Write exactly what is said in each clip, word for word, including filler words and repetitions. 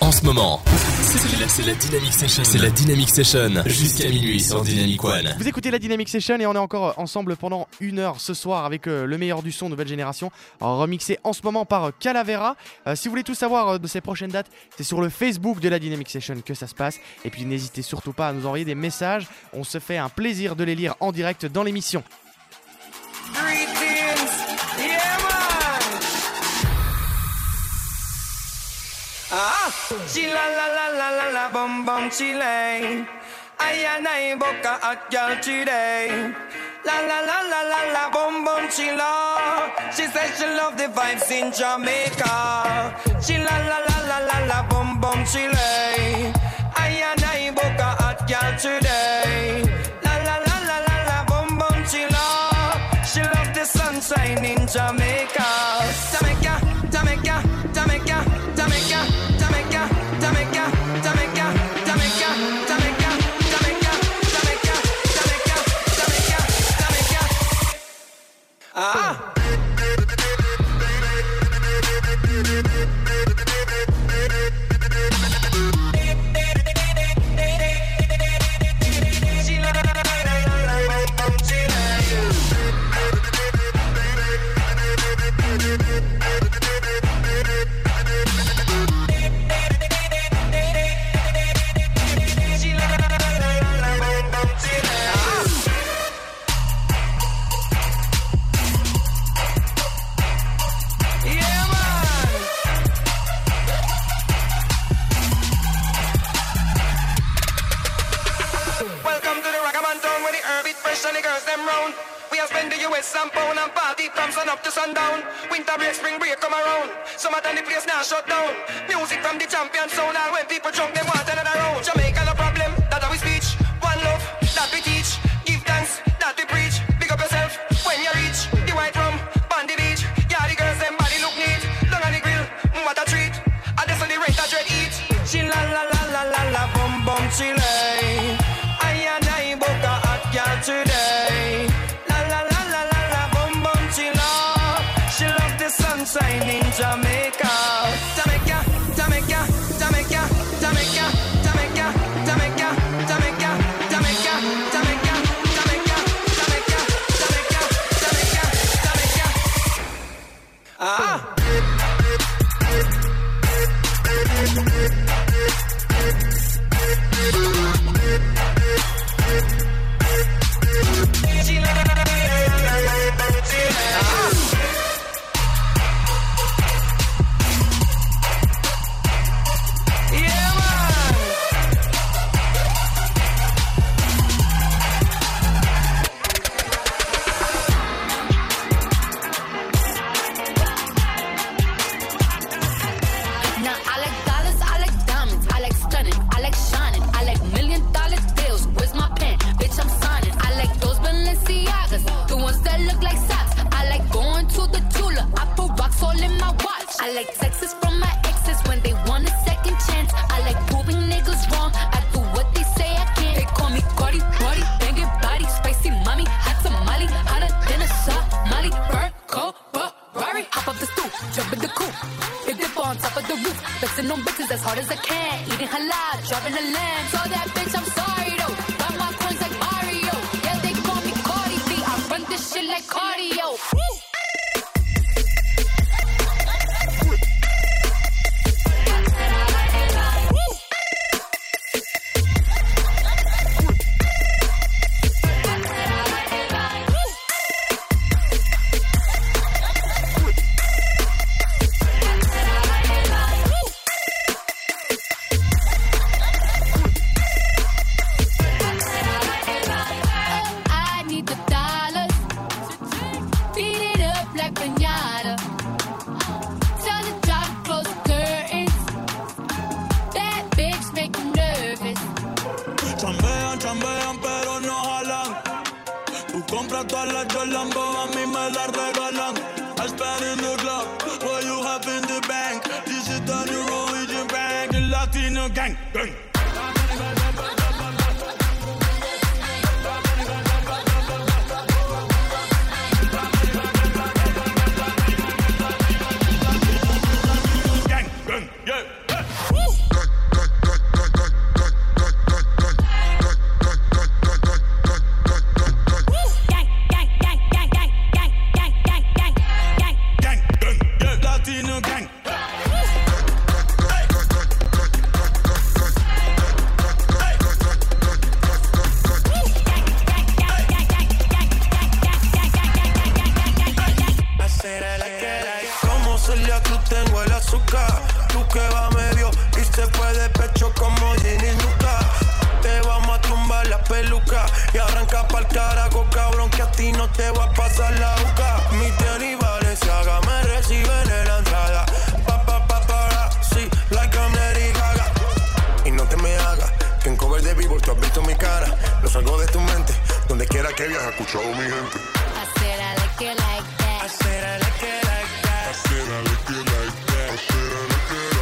en ce moment. C'est la, c'est la Dynamic Session. C'est la Dynamic Session jusqu'à minuit sur Dynamic One. Vous écoutez la Dynamic Session et on est encore ensemble pendant une heure ce soir avec euh, le meilleur du son nouvelle génération, remixé en ce moment par euh, Calavera. Euh, si vous voulez tout savoir euh, de ces prochaines dates, c'est sur le Facebook de la Dynamic Session que ça se passe. Et puis n'hésitez surtout pas à nous envoyer des messages. On se fait un plaisir de les lire en direct dans l'émission. Greetings, yeah man. Ah, chilla la la la la la bum bum chillin'. I and I book a hot girl today. La la la la la la bum bum chilla. She said she love the vibes in Jamaica. Chilla la la la la la bum bum chillin'. I and I book a hot girl today. La la la la la la bum bum chilla. She love the sunshine in Jamaica. Jamaica, Jamaica, Jamaica, Jamaica, Jamaica, Jamaica, Jamaica, Jamaica, Jamaica, Jamaica, Jamaica, Jamaica, Jamaica, Jamaica. Ah. Pound and party from sun up to sundown. Winter break, spring break come around. Summertime the place now shut down. Music from the champion sound. And when people drunk them want another round. Jamaica no problem, that how we speech. One love, that we teach. Give thanks, that we preach. Pick up yourself when you reach the white rum, on the beach. Yeah, the girls them body look neat. Long on the grill, mm, what a treat. And this on the rent a dread eat. She la la la la la la bum bum chile. I and I book a hot girl today. Sunshine in Jamaica, Jamaica, Jamaica, Jamaica, Jamaica, Jamaica, Jamaica, Jamaica, Jamaica, Jamaica, Jamaica, Jamaica, Jamaica, Jamaica, Jamaica. Ah. I like texts from my exes when they want a second chance. I like proving niggas wrong. I do what they say I can't. They call me Cardi, Cardi, banging body, spicy mommy, hot tamale, hotter than a Somali. Burn, cold, Ferrari, hop up the stoop, jump in the coupe, hit dip on top of the roof, flexing on bitches as hard as I can, eating halal, driving a lamb. So that bitch, I'm sorry though. Got my coins like Mario. Yeah, they call me Cardi B. I run this shit like cardio. Woo! Gang, gang. Gang, gang, yeah. Woo! Se fue de pecho como Ginny Luca. Te vamos a tumbar la peluca y arranca pa'l carajo, cabrón, que a ti no te va a pasar la boca. Mi tenis Balenciaga me reciben en la entrada. Pa, pa, pa, para, sí, like I'm Lady Gaga. Y no te me hagas, que en cover de Billboard tú has visto mi cara. No salgo de tu mente, donde quiera que viajes, escuchado mi gente. I said I like it like that. I said I like it like that. I said I like it like that. I said I like it like that.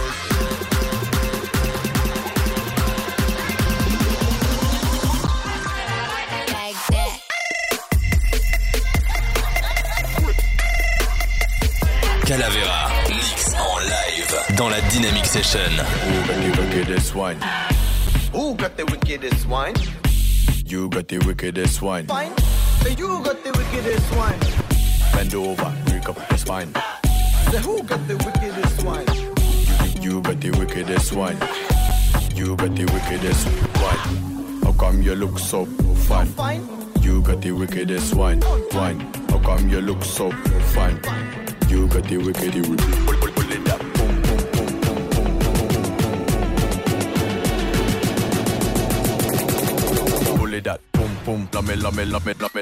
Calavera, mix en live dans la Dynamic Session. Who got the wickedest wine? Who got the wickedest wine? You got the wickedest wine. Fine. You got the wickedest wine. Bend over, break up the spine. Say who got the wickedest wine? You got the wickedest wine. You got the wickedest wine. How come you look so fine? Fine. You got the wickedest wine. Wine. How come you look so fine? You got the wickedy wickedy. Pull, pull, pull it up. Boom, boom, boom, boom, boom, boom, boom. Pull it up. Boom, boom. Lame, lame, lame, lame.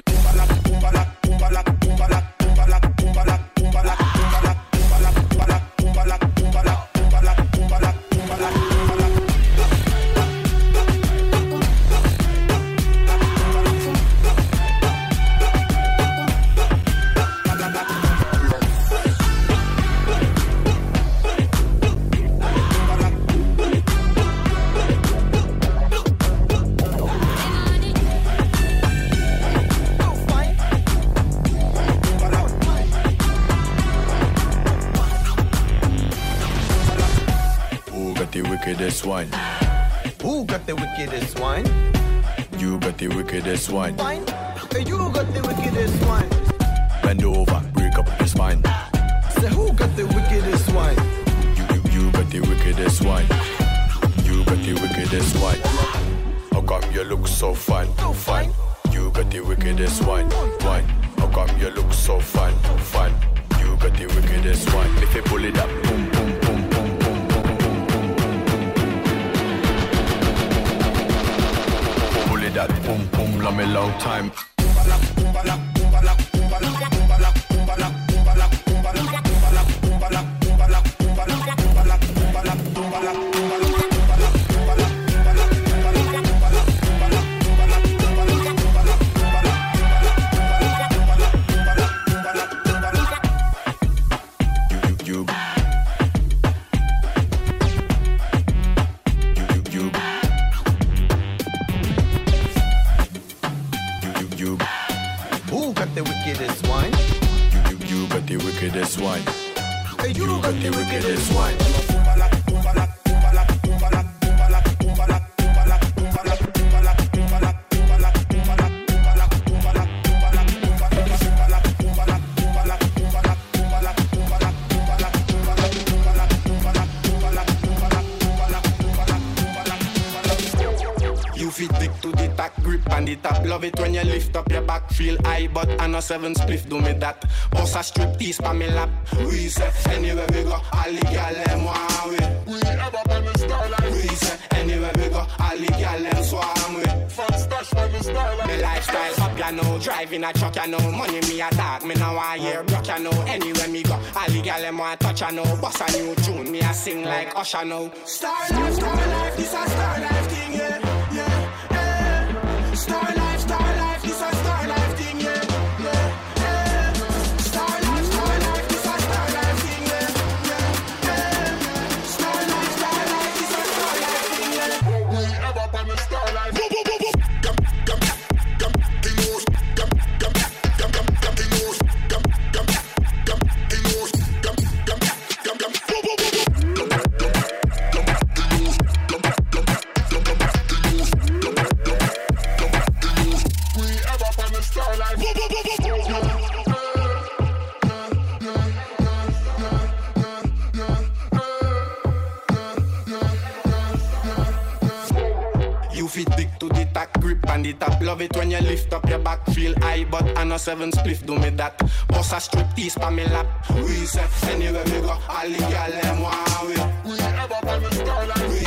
Wine. Who got the wickedest wine? You got the wickedest wine. Wine. You got the wickedest wine. Bend over, break up the spine. Say who got the wickedest wine? You, you, you got the wickedest wine. You got the wickedest wine. How come you look so fine? Fine. You got the wickedest wine. Wine. How come you look so fine? Fine. You got the wickedest wine. If you pull it up, boom, boom, boom, boom. That boom boom, love me long time. Wickedest wine. Hey, you, you got the wickedest wine. You fit big to the tack grip and the tap. Love it when you lift up your back. Feel high, but I know seven spliff do me that. Boss a strip tease pa me lap. We say anywhere we go, all the gyal them want we. We ever on the star like we say anywhere we go, all the gyal them swarm we. Fun stash on the star like me lifestyle up, you know. Driving a truck, you know. Money me a talk, me now I hear broke, you know. Anywhere me go, all the gyal them want touch, you know. Boss a new tune, me a sing like Usher now. Star life, star life, this a star life thing, yeah. Star life, star life, this a star life thing, yeah, yeah, yeah. Star life, star life, this a star life thing, yeah, yeah, yeah. Star life, star life, this a star life thing, yeah. We ever on the star life. Tap. Love it when you lift up your back. Feel high, but I know seven spliff do me that. Boss a strip tease pa me lap. We say anywhere we go, all the gyal them want we. We ever on the star like we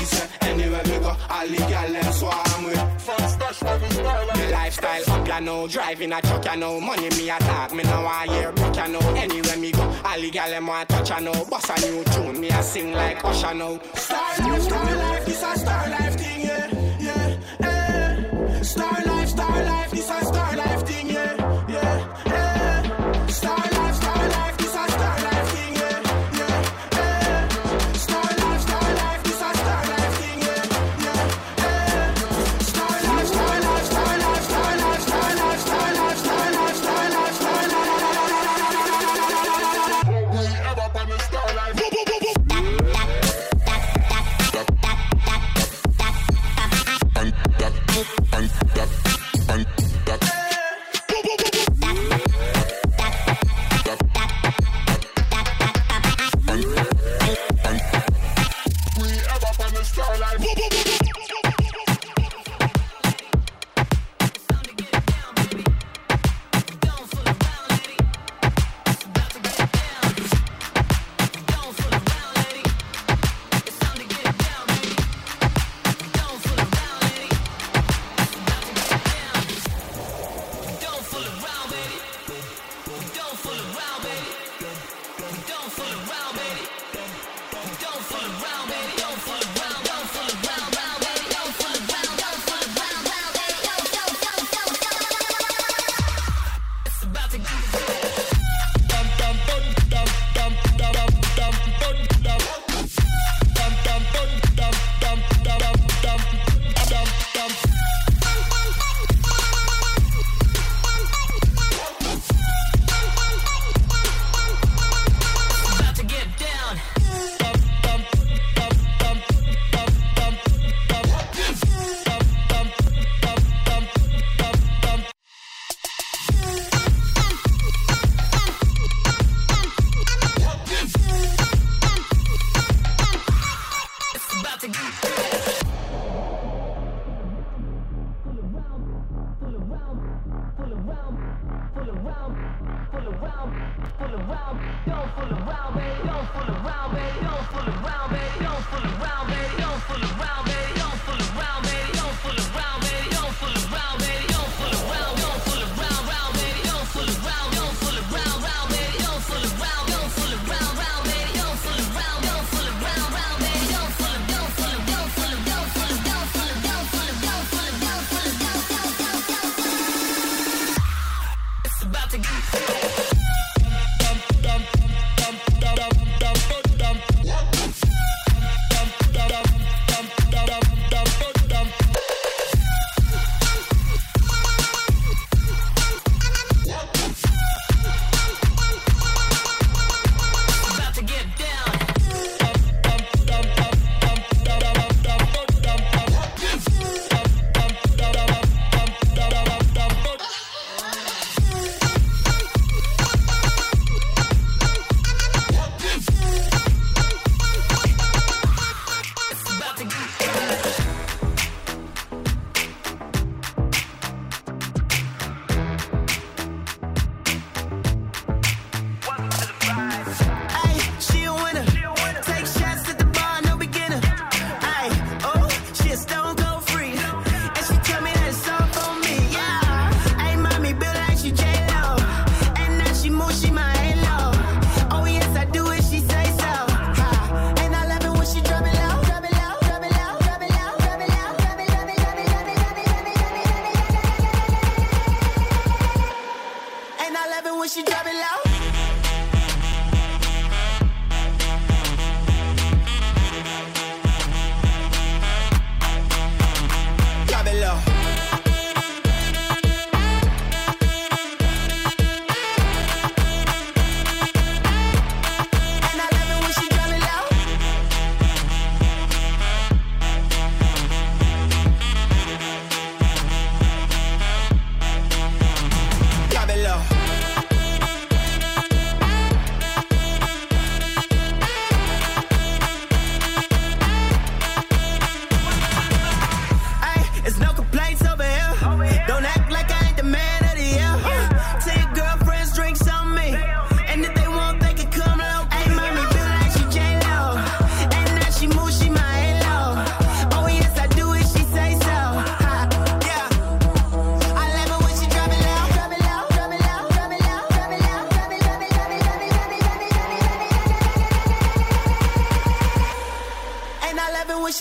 lifestyle up, you know. Driving a truck, you know. Money me a talk, me no want hear broke, you know. Anywhere me go, all the gal them want touch, you know. Boss a new tune, me a sing like Usher now. Star life, star life, this a star life thing, yeah, yeah, eh. Star life, star life, this a star life thing, yeah, yeah, eh. Star life, star life, this a star life thing, yeah, yeah, eh. Star life, star life, this a star life thing, yeah, yeah, eh. Star life, star life, star life, star life, star life, star life, star life, star life, star life. We ever on the star life.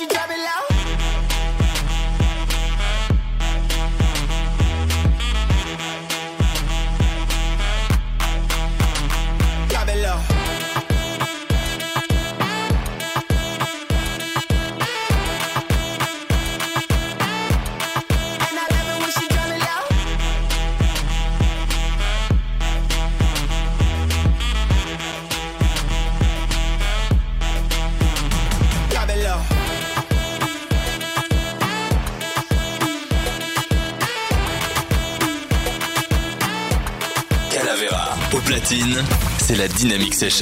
drop it low. Drop it low. Au platine, c'est la Dynamic Session.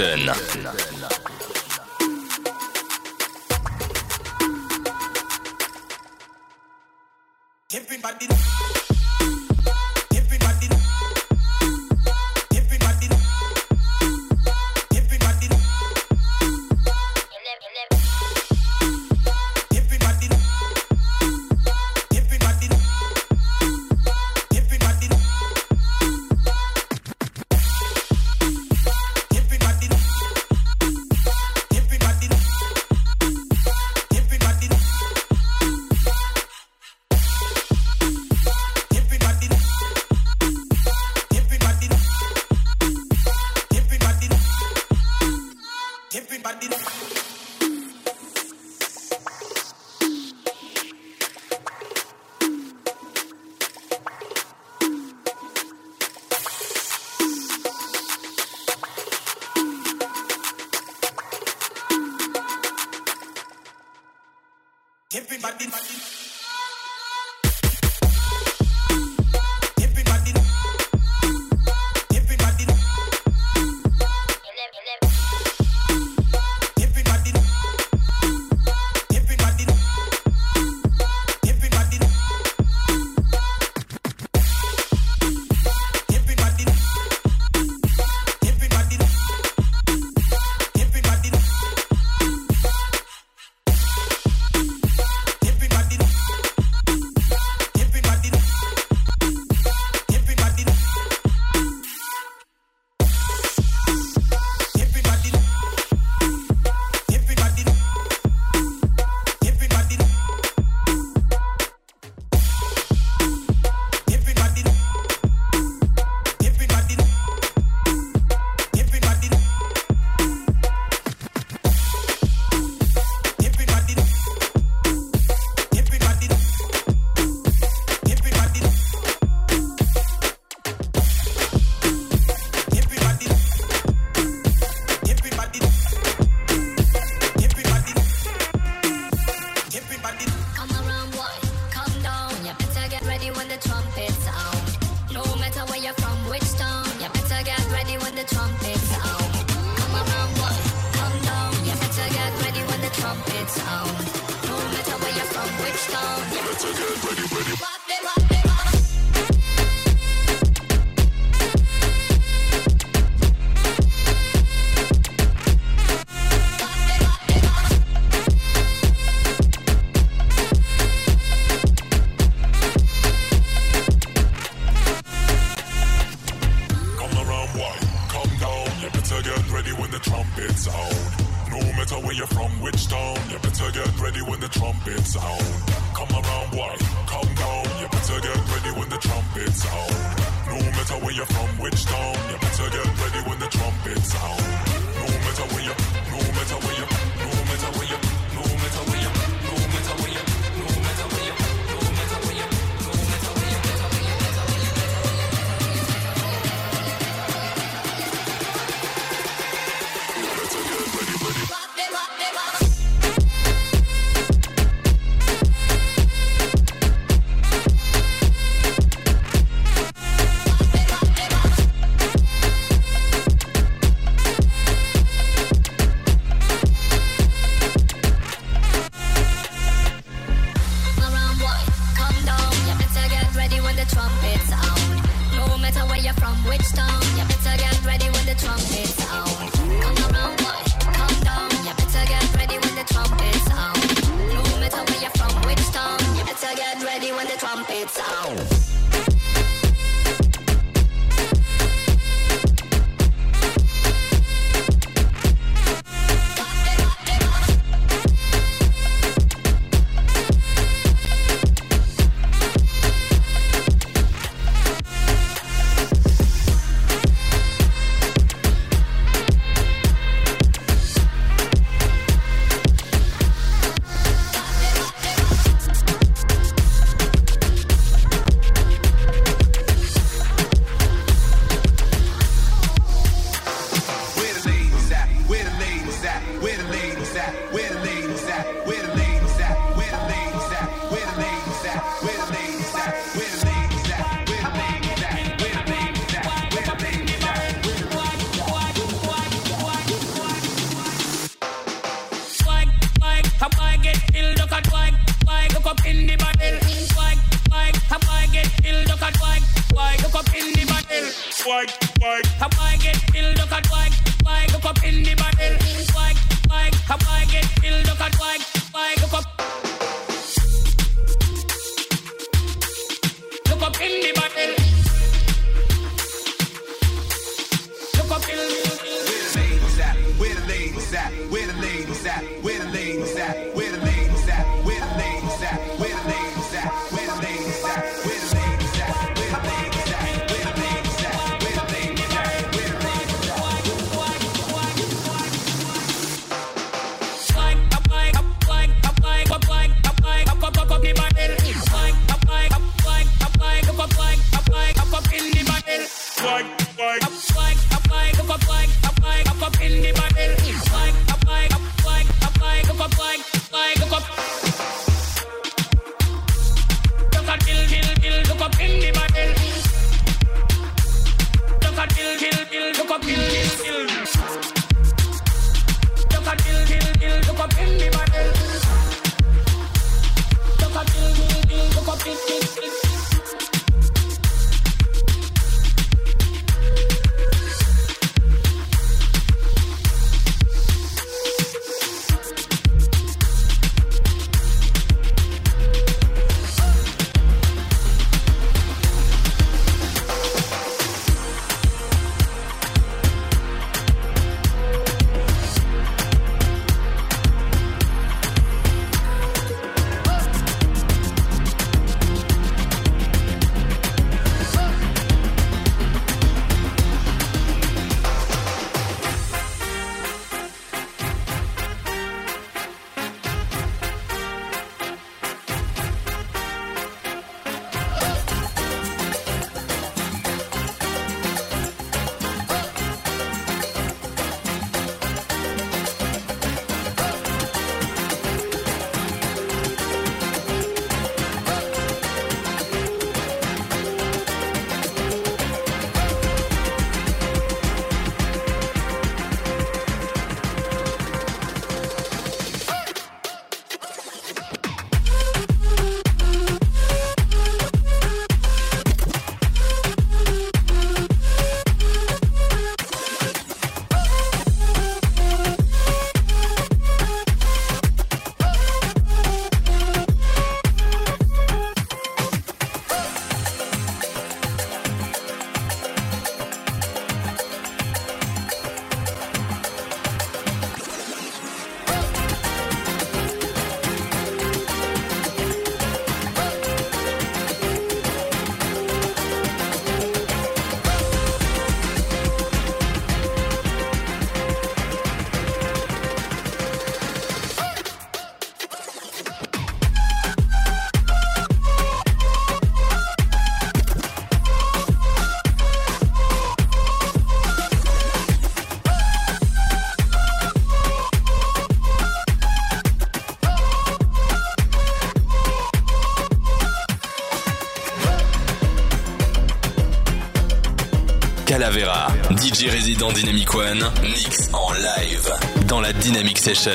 Calavera, D J résident Dynamic One, mix en live dans la Dynamic Session.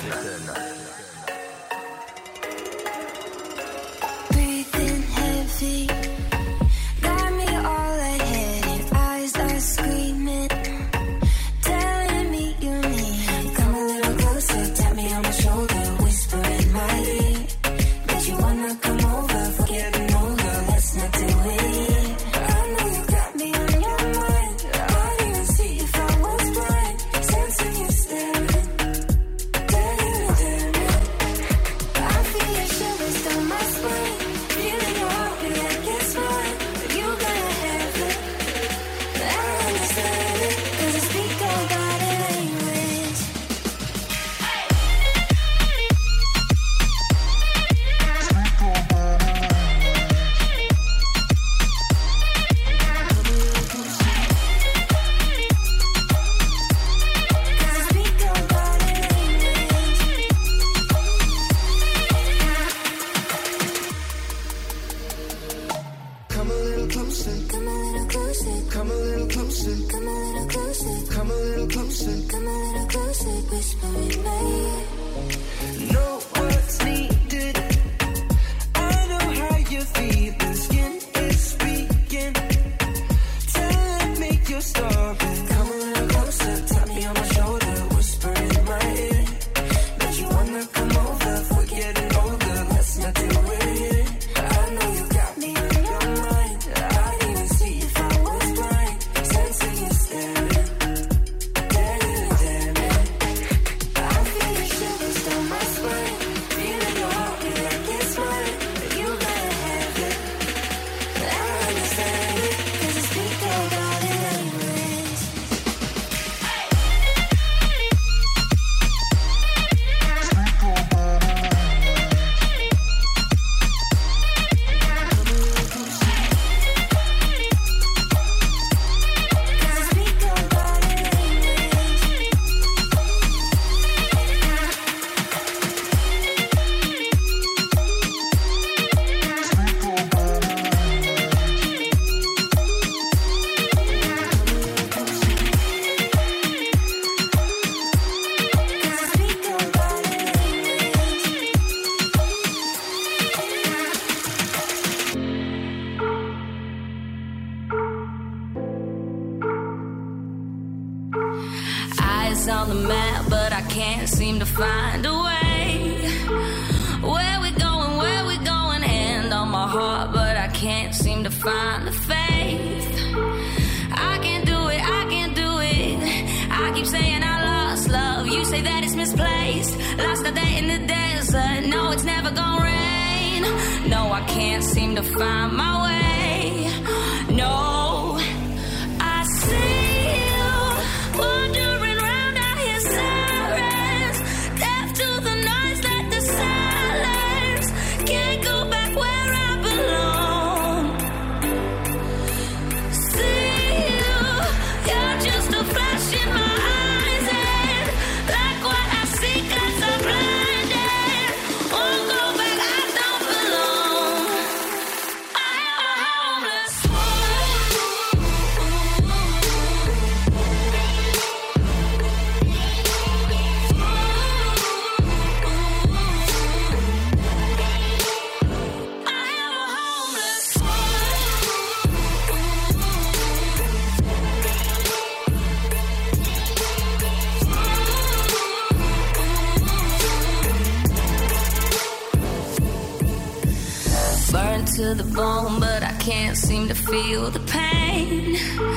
To the bone, but I can't seem to feel the pain.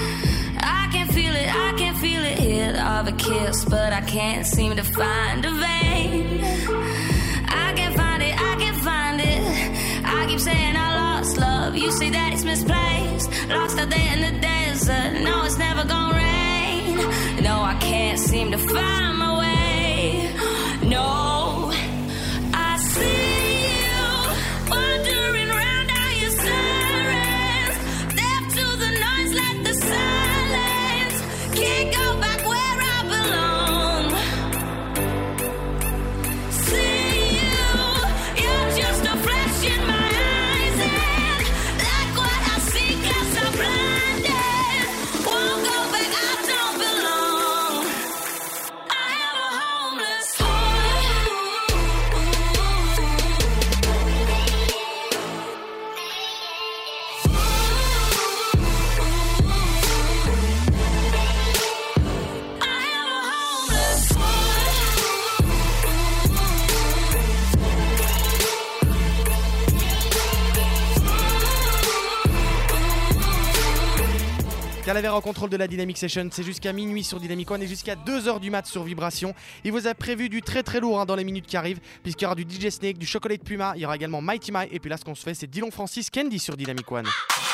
I can feel it, I can feel it, hit of a kiss, but I can't seem to find a vein. I can't find it, I can't find it. I keep saying I lost love, you say that it's misplaced. Lost out there in the desert, no, it's never gonna rain. No, I can't seem to find my way. No, I see. Can't go back where I belong. See you, you're just a flash in my eyes, and like what I see 'cause I'm blinded. Won't Calavera au contrôle de la Dynamic Session, c'est jusqu'à minuit sur Dynamic One et jusqu'à deux heures du mat sur Vibration. Il vous a prévu du très très lourd hein, dans les minutes qui arrivent, puisqu'il y aura du D J Snake, du Chocolate Puma, il y aura également Mighty Mike, et puis là ce qu'on se fait c'est Dillon Francis Candy sur Dynamic One.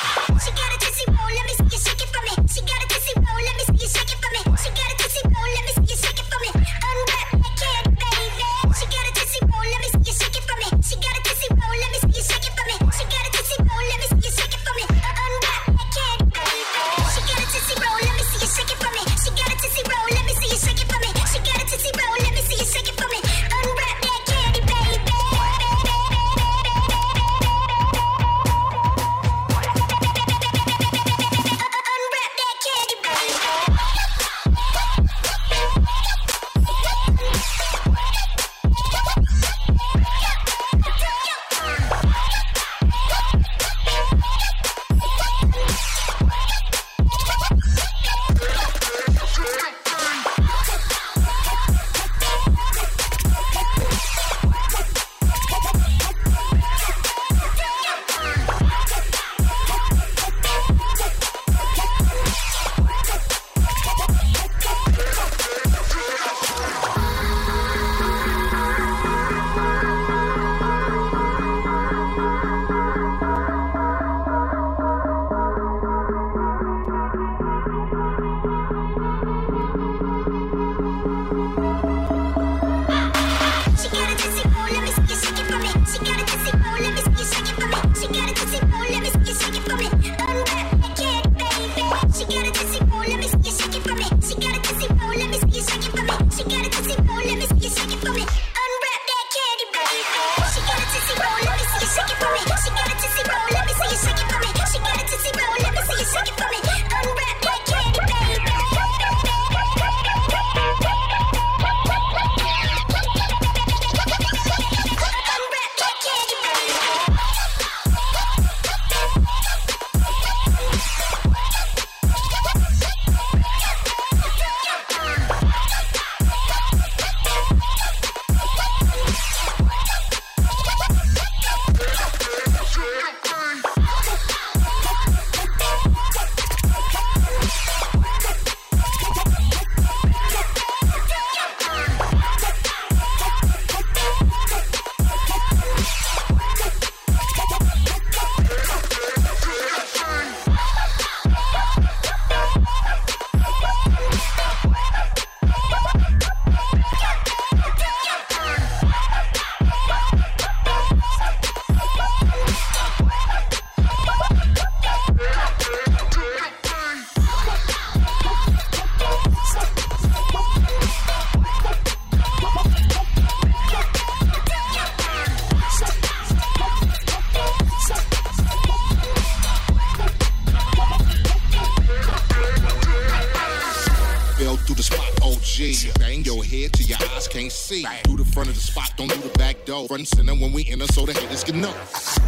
Do the front of the spot, don't do the back door. Front and center when we enter so the haters can know.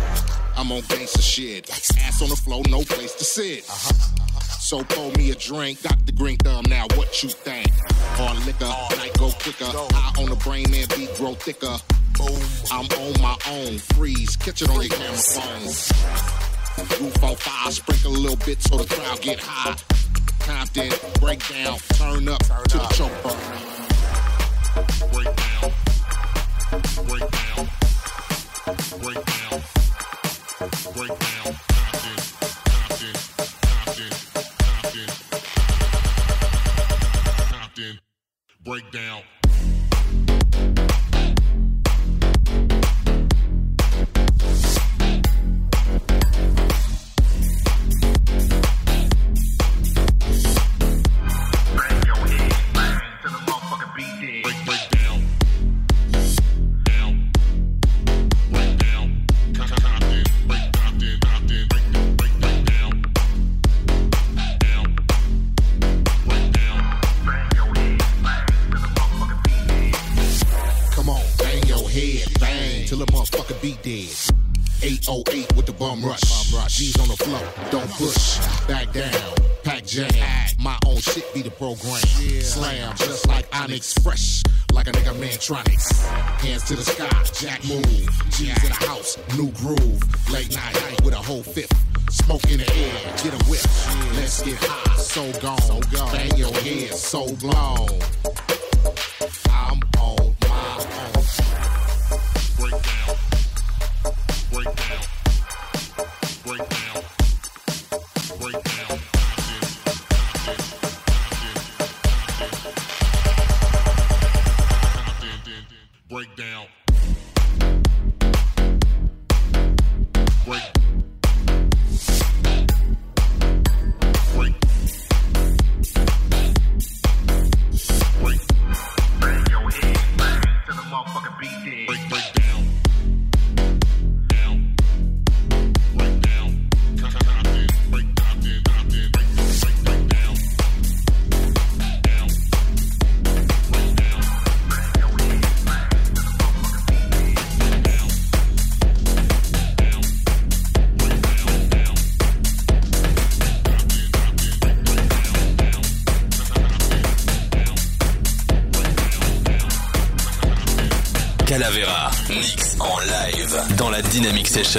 I'm on gangsta shit. Ass on the floor, no place to sit. So pour me a drink, Doctor Green Thumb, now what you think? Hard liquor, night go quicker. Eye on the brain and beat grow thicker. I'm on my own, freeze, catch it on your camera phone. Roof on fire, sprinkle a little bit so the crowd get high. Compton, break down, turn up to the choke bar. Break down, break down, break down, break down. Compton, Compton, Compton, Compton, Compton, break down. eight oh eight with the bum rush. G's on the floor, don't push. Back down, pack jam. My own shit be the program. Slam just like Onyx, fresh like a nigga Mantronics. Hands to the sky, Jack move. G's in the house, hits, new groove, late night with a whole fifth. Smoke in the air, get a whip. Let's get high, so gone. So gone. Bang your head, so blown. I'm on my own. Break down, break down, break down, break down. Break down. Break. Break. Break. Bang your head, bang to the motherfucking beat dead. Break, break down. Down. Break down. Compton. Break Compton. Compton. Break, break, break down. Down. Break down. Bang your head, bang to the motherfucking beat dead. Down. Down. Break down. Down. Calavera, mix en live dans la Dynamic Session.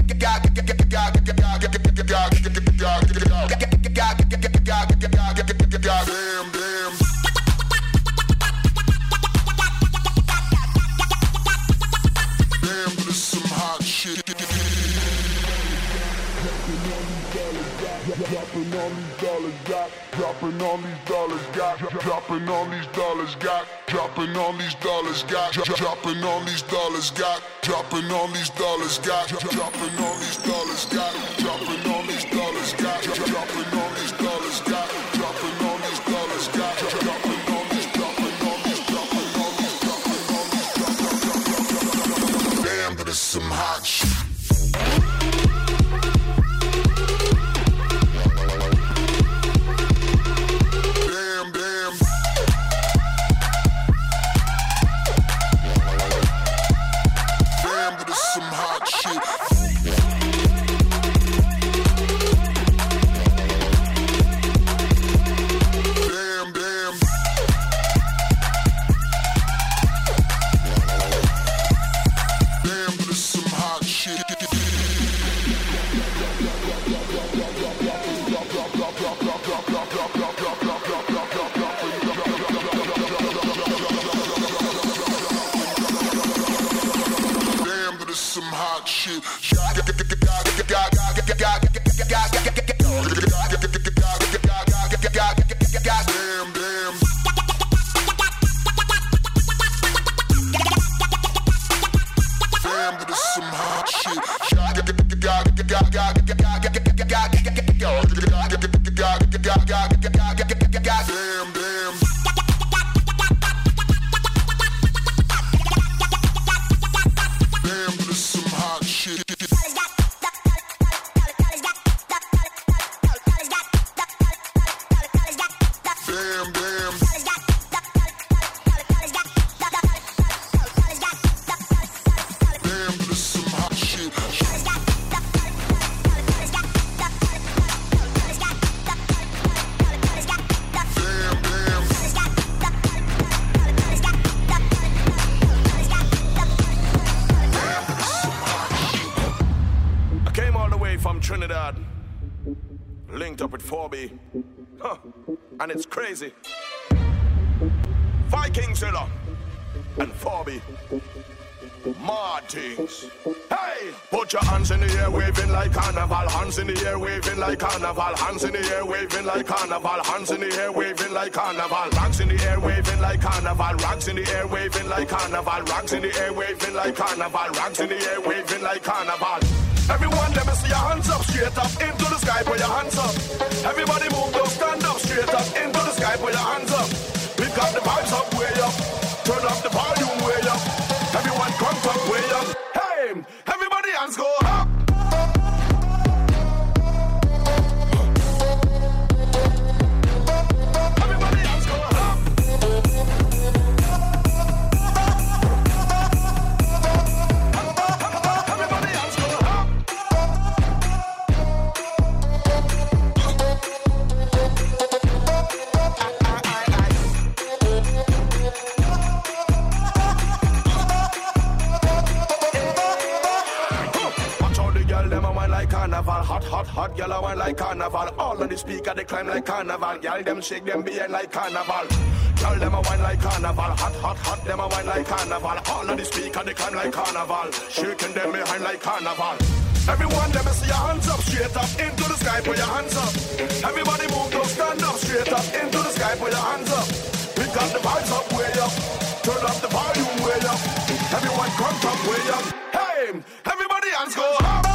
Got dropping on these dollars, got dropping on these dollars, got dropping on these dollars, got dropping on these dollars, got dropping on these dollars, got dropping on these dollars, got dropping on these dollars, got dropping on these dollars, got dropping on these dollars, got dropping on these dropping on these dropping on these dropping on these dropping. Damn, but it's some hot shit. And it's crazy. Viking Zilla and Forby Martins. Hey! Put your hands in the air, waving like carnival. Hands in the air, waving like carnival. Hands in the air, waving like carnival. Hands in the air, waving like carnival. Rocks in the air, waving like carnival. Rocks in the air, waving like carnival. Rocks in the air, waving like carnival. Rocks in the air, waving like carnival. Everyone, let me see your hands up, straight up into the sky, put your hands up. Everybody move, don't stand up, straight up into the sky, put your hands up. We've got the vibes up, way up. Turn up the volume, way up. Everyone come up, way up. Hey, everybody hands go up. Everybody hands go up. Everybody hands go up. Carnival, hot, hot, hot, gyal a wine like carnival. All of the speaker they climb like carnival. Gyal them shake them behind like carnival. Gyal them a wine like carnival, hot, hot, hot, them a wine like carnival. All of the speaker they climb like carnival, shaking them behind like carnival. Everyone, let me see your hands up, straight up into the sky, put your hands up. Everybody move, don't stand up, straight up into the sky, put your hands up. We got the vibes up, way up. Turn up the volume, way up. Everyone come up, way up. Hey, everybody hands go up.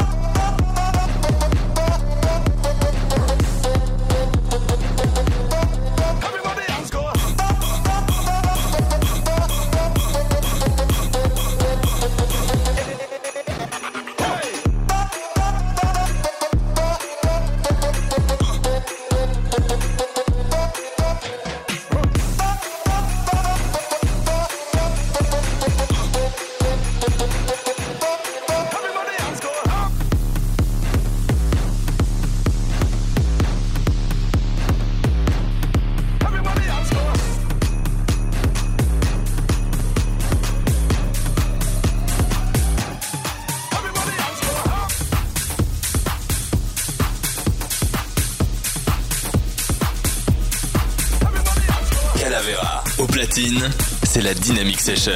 Au platine, c'est la Dynamic Session.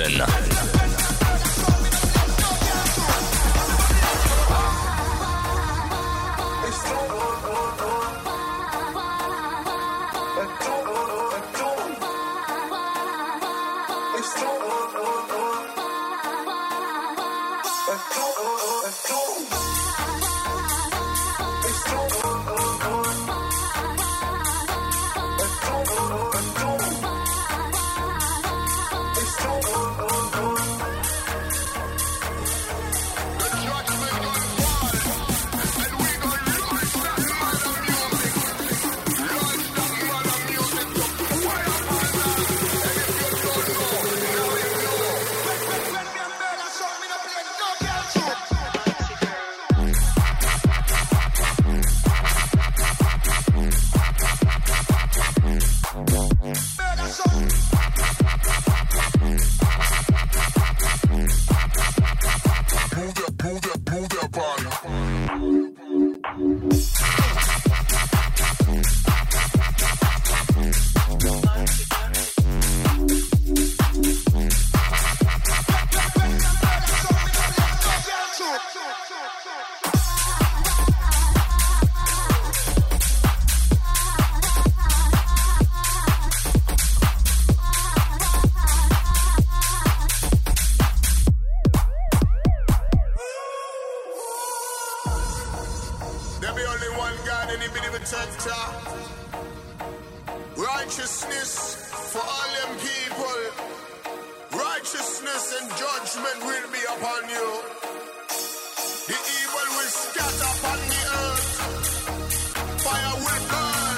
Righteousness for all them people. Righteousness and judgment will be upon you. The evil will scatter upon the earth. Fire will burn.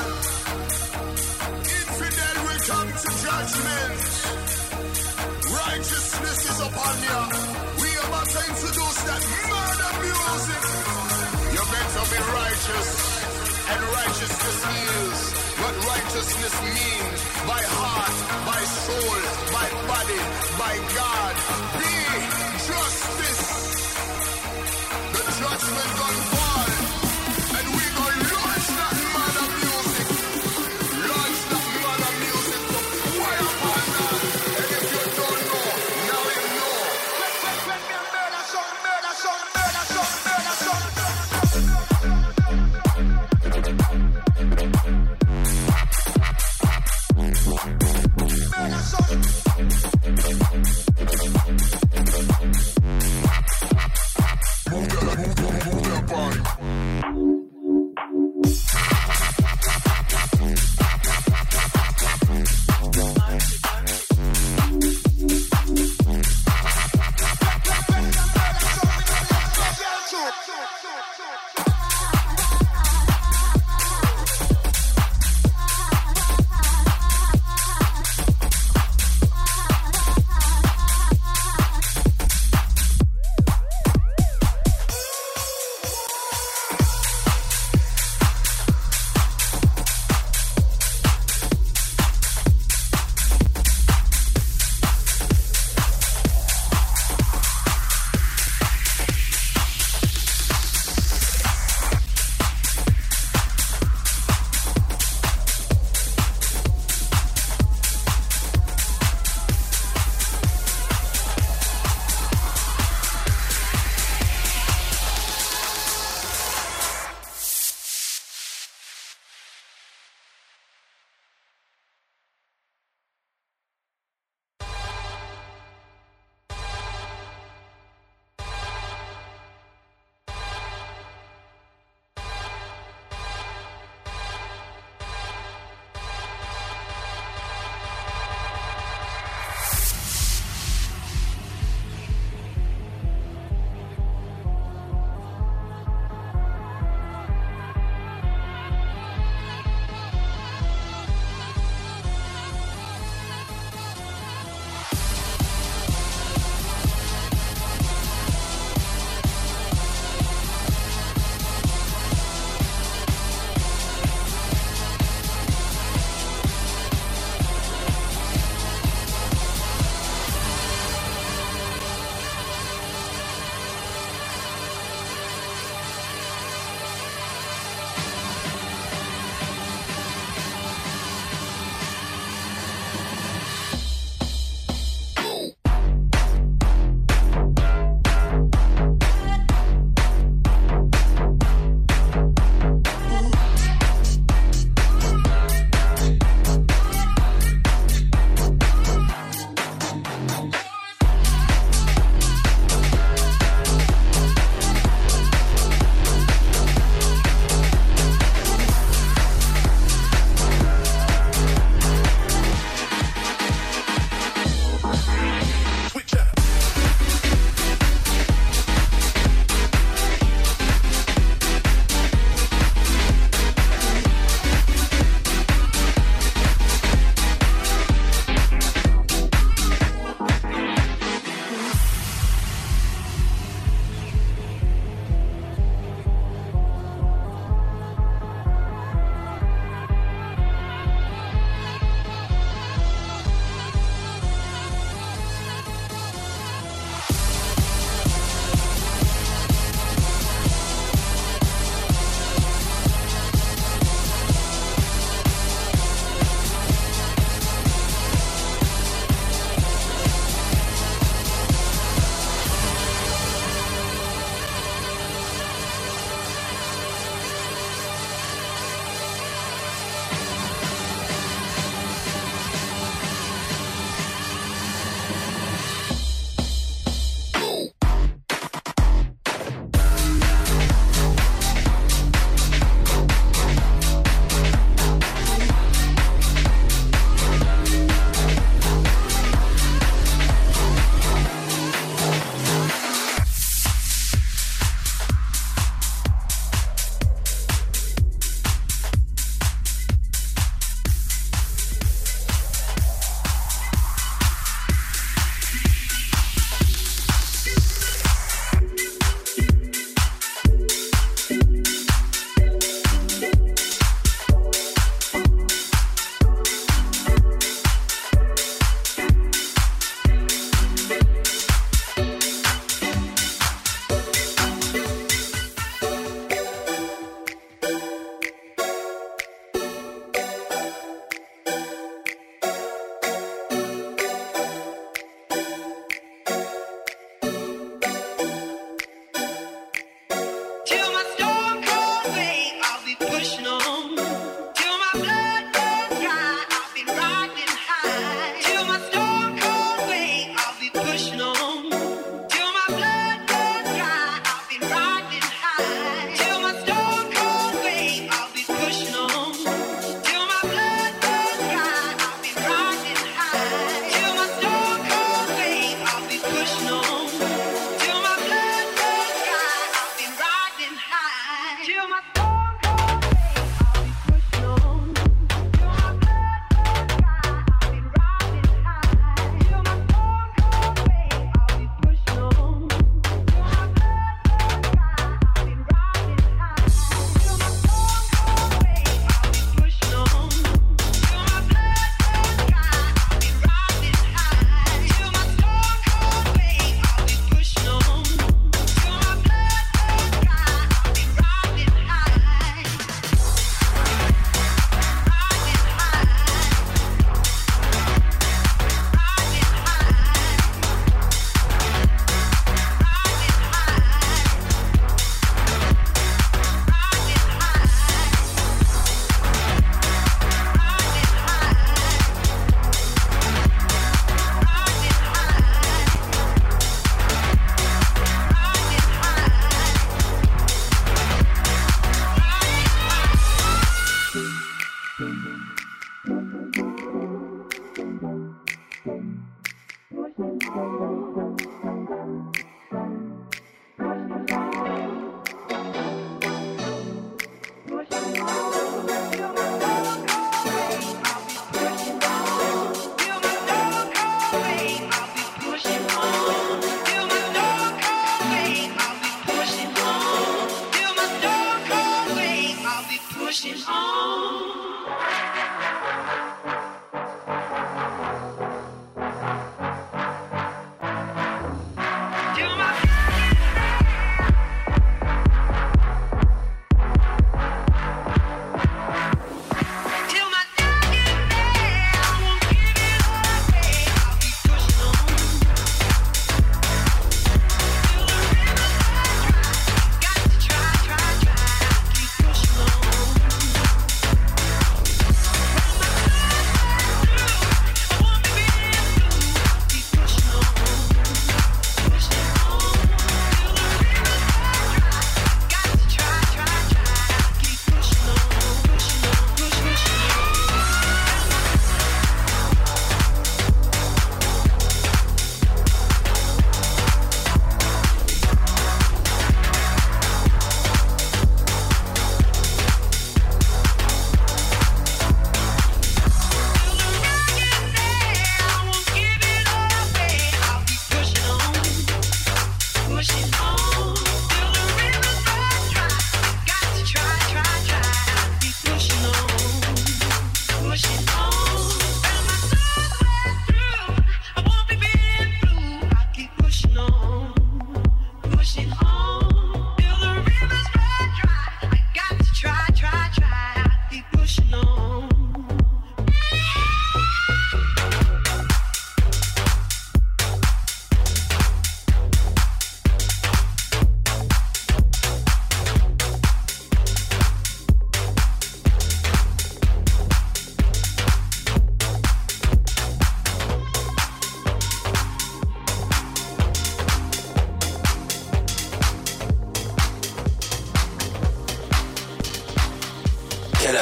Infidel will come to judgment. Righteousness is upon you. We are about to introduce that murder music. You're meant to be righteous. And righteousness is what righteousness means. By heart, by soul, by body, by God. Be justice. The judgment gonna fall. And we gonna launch that murder music. Launch that murder music to fire upon that. And if you don't know, now you know. Let me murder song, murder song, murder song, murder song. Murder song.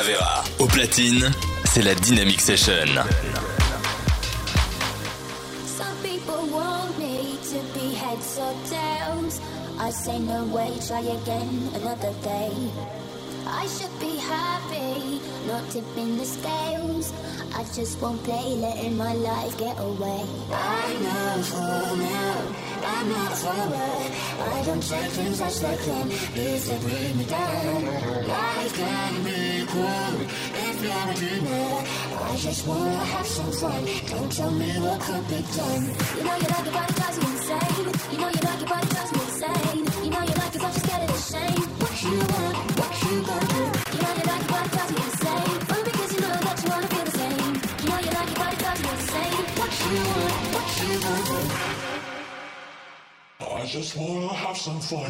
Calavera. Au platine, c'est la Dynamic Session. Some people want me to be heads or tails. I say no way, try again another day. I should be happy, not tipping the scales. I just won't play, letting my life get away. I know for now, I'm not a follower. I don't take things as they come, if they bring me down. Life can be cool, if you're a dreamer. I just wanna have some fun, don't tell me what could be done. You know you like your body drives you insane. You know you like your body drives me insane. You know you like it but you're scared of the shame. What you want, what you gonna do? You know you like your body drives me insane. Only because you know that you wanna feel the same. You know you like your body drives me insane. What you want, what you gonna do? I just wanna have some fun.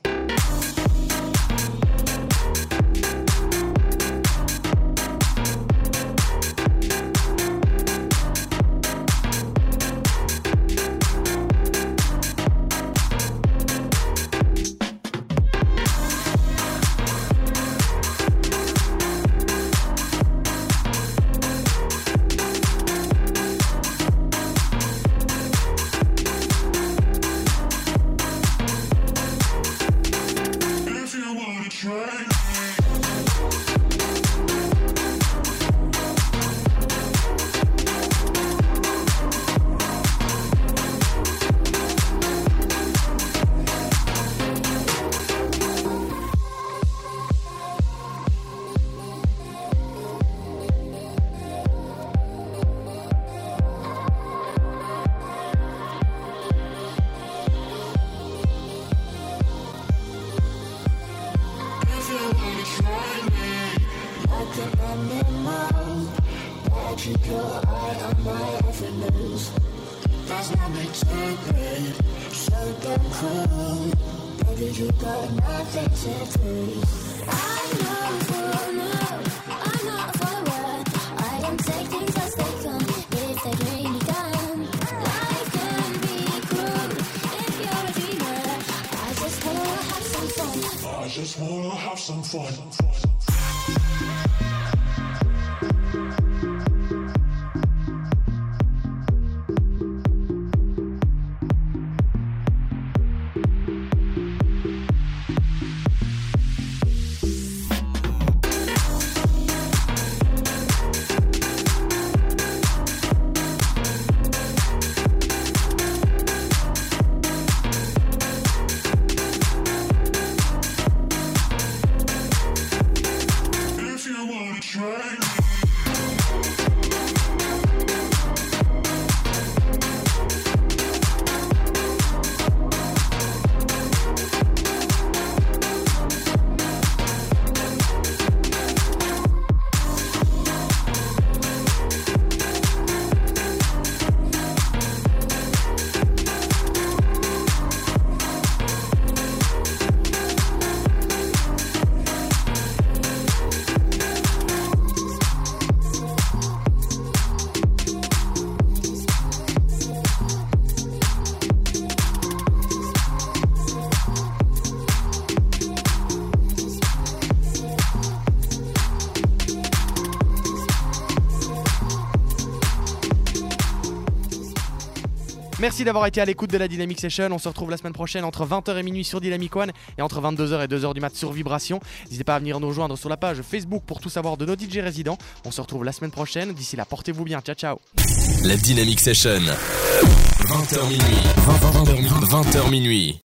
Merci d'avoir été à l'écoute de la Dynamic Session. On se retrouve la semaine prochaine entre vingt heures et minuit sur Dynamic One et entre vingt-deux heures et deux heures du mat sur Vibration. N'hésitez pas à venir nous rejoindre sur la page Facebook pour tout savoir de nos D J résidents. On se retrouve la semaine prochaine. D'ici là, portez-vous bien. Ciao, ciao. La Dynamic Session. vingt heures minuit. vingt heures minuit.